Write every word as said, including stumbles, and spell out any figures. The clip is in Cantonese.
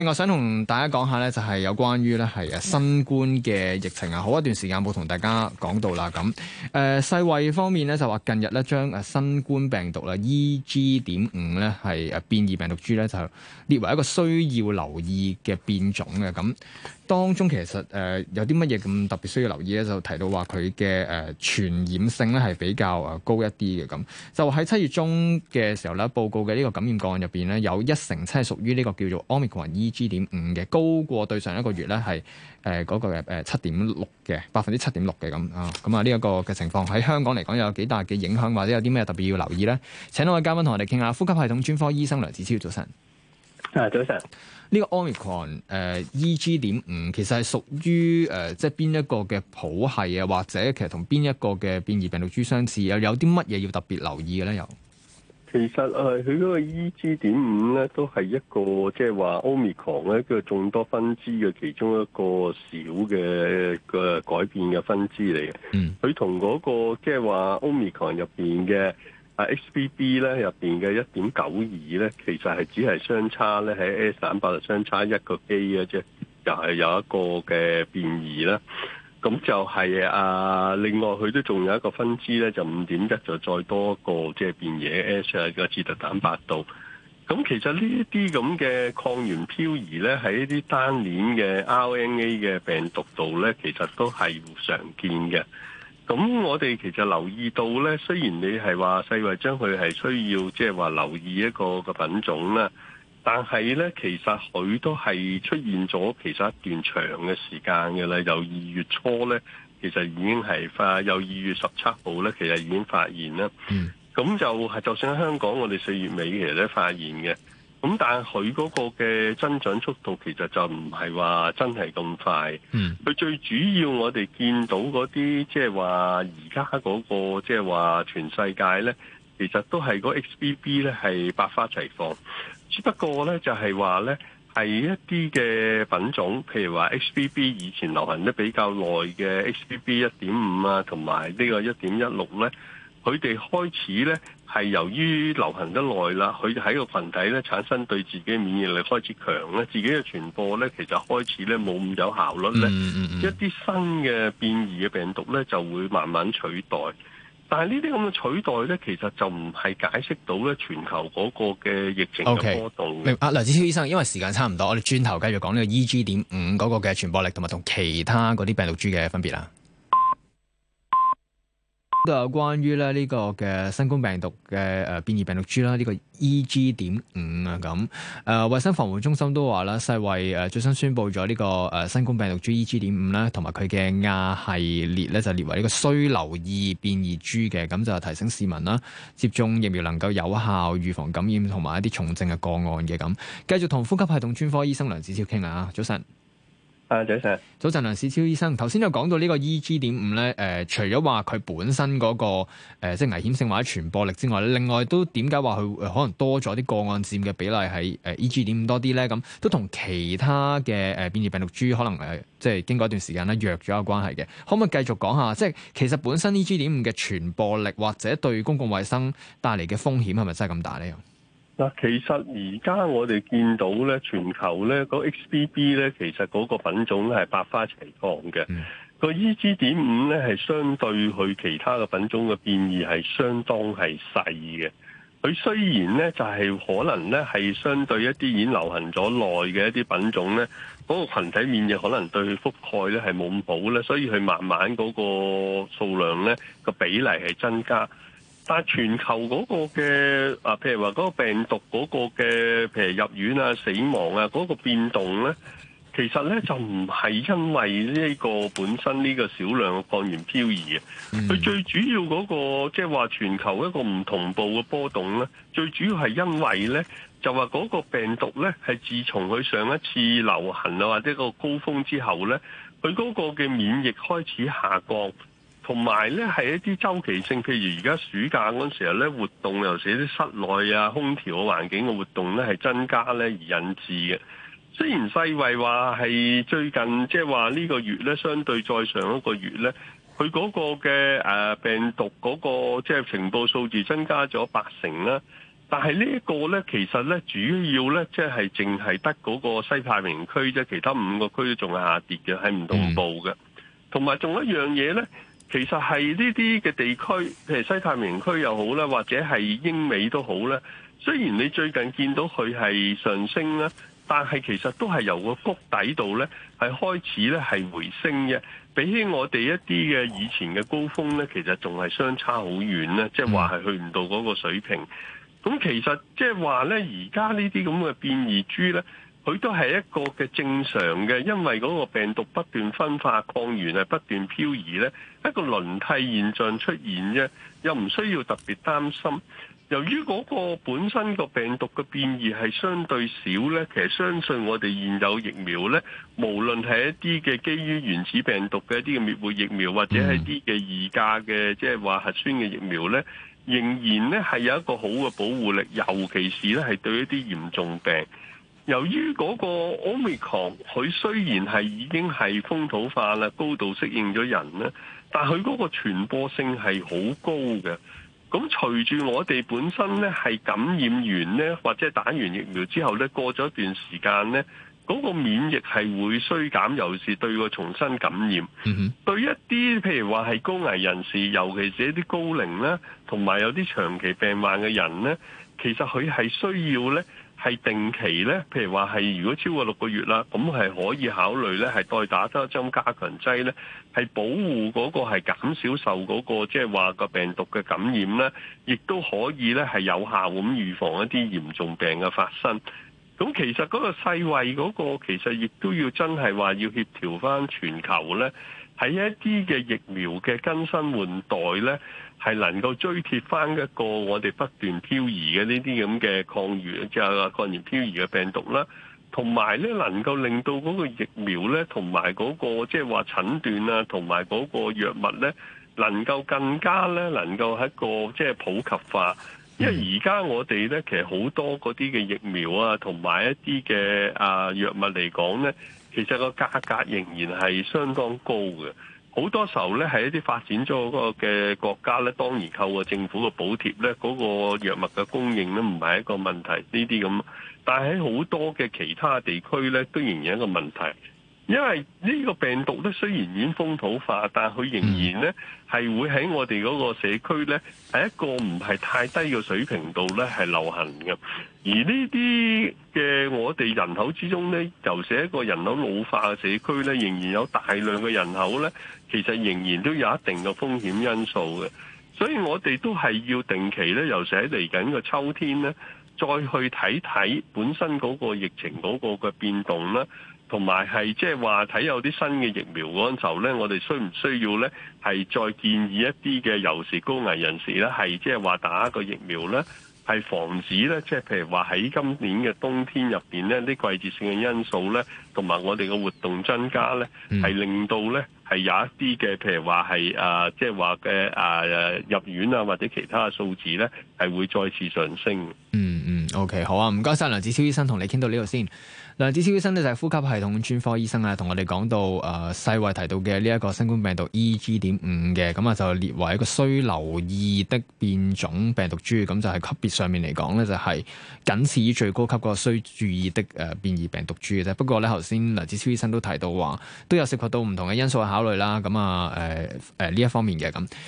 我想同大家講下咧，就係有關於咧係誒新冠嘅疫情啊，好一段時間冇同大家講到啦。咁誒、呃、世衛方面咧就話近日咧將誒新冠病毒啦 E G 點五咧係誒變異病毒株咧就列為一個需要留意嘅變種嘅。咁當中其實誒、呃、有啲乜嘢咁特別需要留意咧？就提到話佢嘅誒傳染性咧係比較誒高一啲嘅。咁就喺七月中嘅時候咧，報告嘅呢個感染個案入邊咧，有一成七係屬於呢個叫做 Omicron E G 點五嘅，高過對上一個月咧係誒嗰個嘅誒七點六嘅百分之七點六嘅咁啊。咁啊呢一個嘅情況喺香港嚟講有幾大嘅影響，或者有啲咩特別要留意咧？請兩位嘉賓同我哋傾下。呼吸系統專科醫生梁子超，早晨。 啊，早晨。 呢個 Omicron 誒、呃、E G 點五其實係屬於誒、呃、即係邊一個嘅譜系啊，或者其實同邊一個嘅變異病毒株相似，又有啲乜嘢要特別留意嘅咧？又其實誒，佢嗰個 E G 點五咧，都係一個即係話 Omicron 咧，一個眾多分支嘅其中一個小嘅嘅改變嘅分支嚟嘅。嗯，佢同嗰個即係話 Omicron 入邊嘅啊 X B B 咧入邊嘅一點九二咧，其實係只係相差咧喺 S 蛋白就相差一個基嘅啫，又係有一個嘅變異啦。咁就係、是、啊，另外佢都仲有一個分支咧，就五點一就再多一個即係變異 S 啊個刺突蛋白度。咁其實呢一啲咁嘅抗原漂移咧，喺一啲單鏈嘅 R N A 嘅病毒度咧，其實都係常見嘅。咁我哋其實留意到咧，雖然你係話世衛將佢係需要即係話留意一個個品種啦。但係咧，其實佢都係出現咗其實一段長嘅時間嘅啦。由二月初咧，其實已經係發，由二月十七號咧，其實已經發現啦。嗯，咁就係就算喺香港，我哋四月尾其實都發現嘅。咁但係佢嗰個嘅增長速度其實就唔係話真係咁快。嗯，佢最主要我哋見到嗰啲即係話而家嗰個即係話全世界咧，其實都係嗰 X B B 咧係百花齊放。只不過咧，就係話咧，係一啲嘅品種，譬如話 X B B 以前流行得比較耐嘅 X B B 一點五啊，同埋呢個一點一六咧，佢哋開始咧係由於流行得耐啦，佢喺個群體咧產生對自己免疫力開始強咧，自己嘅傳播咧其實開始咧冇咁有效率咧，嗯嗯嗯一啲新嘅變異嘅病毒咧就會慢慢取代。但係呢啲咁嘅取代咧，其實就唔係解釋到咧全球嗰個嘅疫情嘅波動。 明啊，梁子超醫生，因為時間差唔多，我哋轉頭繼續講呢個 E G 點五嗰個嘅傳播力同埋同其他嗰啲病毒株嘅分別啦。都有關於咧呢個嘅新冠病毒嘅誒變異病毒株啦，呢個 E G 點五啊咁誒，衛生防護中心都話啦，世衛誒最新宣布咗呢個誒新冠病毒株 E G 點五啦，同埋佢嘅亞系列咧就列為呢個需留意變異株嘅，咁就提醒市民啦，接種疫苗能夠有效預防感染同埋一啲重症嘅個案嘅咁。繼續同呼吸系統專科醫生梁子超傾下，早晨。 啊，早晨， 早晨，梁子超醫生，頭先就講到呢個 E G 點五咧，誒，除咗話佢本身嗰、那個誒、呃，即係危險性或者傳播力之外，另外都點解話佢可能多咗啲個案佔嘅比例係誒 E G 點五多啲咧？咁都同其他嘅誒變異病毒株可能誒、呃，即係經過一段時間咧弱咗有關係嘅。可唔可以繼續講下？即係其實本身 E G 點五嘅傳播力或者對公共衛生帶嚟嘅風險係咪真係咁大咧？ 嗱，其實而家我哋見到咧，全球咧嗰 X B B 咧，其實嗰個品種咧係百花齊放嘅。個 E G 點五咧係相對佢其他嘅品種嘅變異係相當係細嘅。佢雖然咧就係可能咧係相對一啲已經流行咗耐嘅一啲品種咧，嗰個群體免疫可能對佢覆蓋咧係冇咁好咧，所以佢慢慢嗰個數量咧個比例係增加。但係全球嗰個嘅啊，譬如話嗰個病毒嗰個嘅，譬如入院啊、死亡啊嗰個變動咧，其實咧就唔係因為呢個本身呢個少量嘅抗原漂移啊，佢、嗯、最主要嗰個即係話全球一個唔同步嘅波動咧，最主要係因為咧就話嗰個病毒咧係自從佢上一次流行啊或者個高峰之後咧，佢嗰個嘅免疫開始下降。同埋咧係一啲周期性，譬如而家暑假嗰陣時候咧，活動尤其是啲室內啊、空調嘅環境嘅活動咧係增加咧而引致嘅。雖然世衛話係最近即係話呢個月咧，相對再上一個月咧，佢嗰個嘅誒病毒嗰個即係情報數字增加咗八成啦。 但係呢一個咧，其實咧主要咧即係淨係得嗰個西太平洋區啫，其他五個區都仲係下跌嘅，係唔同步嘅。同埋仲有一樣嘢咧，其實係呢啲嘅地區，譬如西太平洋區又好啦，或者係英美都好啦。雖然你最近見到佢係上升啦，但係其實都係由個谷底度咧係開始咧係回升嘅。比起我哋一啲嘅以前嘅高峰咧，其實仲係相差好遠咧，即係話係去唔到嗰個水平。咁其實即係話咧，而家呢啲咁嘅變異株咧，佢都係一個嘅正常嘅，因為嗰個病毒不斷分化，抗原係不斷漂移咧，一個輪替現象出現啫，又唔需要特別擔心。由於嗰個本身個病毒嘅變異係相對少咧，其實相信我哋現有疫苗咧，無論係一啲嘅基於原始病毒嘅一啲嘅滅活疫苗，或者係一啲嘅二價嘅即係話核酸嘅疫苗咧，仍然咧係有一個好嘅保護力，尤其是咧係對一啲嚴重病。由於嗰個 Omicron 佢雖然係已經係風土化啦，高度適應咗人咧，但佢嗰個傳播性係好高嘅。咁隨住我哋本身咧係感染完咧，或者打完疫苗之後咧，過咗一段時間咧，嗰個免疫係會衰減，尤其是對個重新感染。嗯哼，對一啲譬如話係高危人士，尤其是一啲高齡咧，同埋有啲長期病患嘅人咧，其實佢係需要咧。係定期咧，譬如話係如果超過六個月啦，咁係可以考慮咧，係再打多一針加強劑咧，係保護嗰個係減少受嗰個即係話個病毒嘅感染咧，亦都可以咧係有效咁預防一啲嚴重病嘅發生。咁其實嗰個世衛嗰個其實亦都要真係話要協調翻全球咧，喺一啲嘅疫苗嘅更新換代咧。係能夠追貼翻一個我哋不斷漂移嘅呢啲咁嘅抗原，即係抗原漂移嘅病毒啦，同埋咧能夠令到嗰個疫苗咧，同埋嗰個即係話診斷啊，同埋嗰個藥物咧，能夠更加咧能夠喺一個即係普及化。因為而家我哋咧其實好多嗰啲嘅疫苗啊，同埋一啲嘅啊藥物嚟講咧，其實個價格仍然係相當高嘅。好多時候咧，係一啲發展咗嗰個嘅國家咧，當然透過政府嘅補貼咧，嗰個藥物嘅供應咧，唔係一個問題。呢啲咁，但係喺好多嘅其他地區咧，都仍然一個問題。因為呢個病毒咧，雖然已經風土化，但係佢仍然咧係會喺我哋嗰個社區咧，係一個唔係太低嘅水平度咧係流行嘅。而呢啲嘅我哋人口之中咧，尤其是一個人口老化嘅社區咧，仍然有大量嘅人口咧，其實仍然都有一定嘅風險因素嘅。所以我哋都係要定期咧，尤其喺嚟緊嘅秋天咧，再去睇睇本身嗰個疫情嗰個嘅變動啦。同埋係即係話睇有啲新嘅疫苗嗰陣時候咧，我哋需唔需要咧係再建議一啲嘅尤其高危人士咧，係即係話打一個疫苗咧，係防止咧，即係譬如話喺今年嘅冬天入邊咧，啲季節性嘅因素咧，同埋我哋嘅活動增加咧，係令到咧係有一啲嘅譬如話係啊，即係話嘅啊入院啊或者其他嘅數字咧，係會再次上升。 嗯嗯，OK， 好啊，唔該晒梁子超醫生，同你傾到呢度先。梁子超醫生呢就係呼吸系統專科醫生啊，同我哋講到誒、呃、世衛提到嘅呢一個新冠病毒 E G 點五嘅，咁啊就列為一個需留意的變種病毒株，咁就係級別上面嚟講呢，就係僅次於最高級個需注意的誒、呃、變異病毒株嘅啫。不過呢，頭先梁子超醫生都提到話，都有涉及到唔同嘅因素去考慮啦，咁啊誒誒呢一方面嘅咁。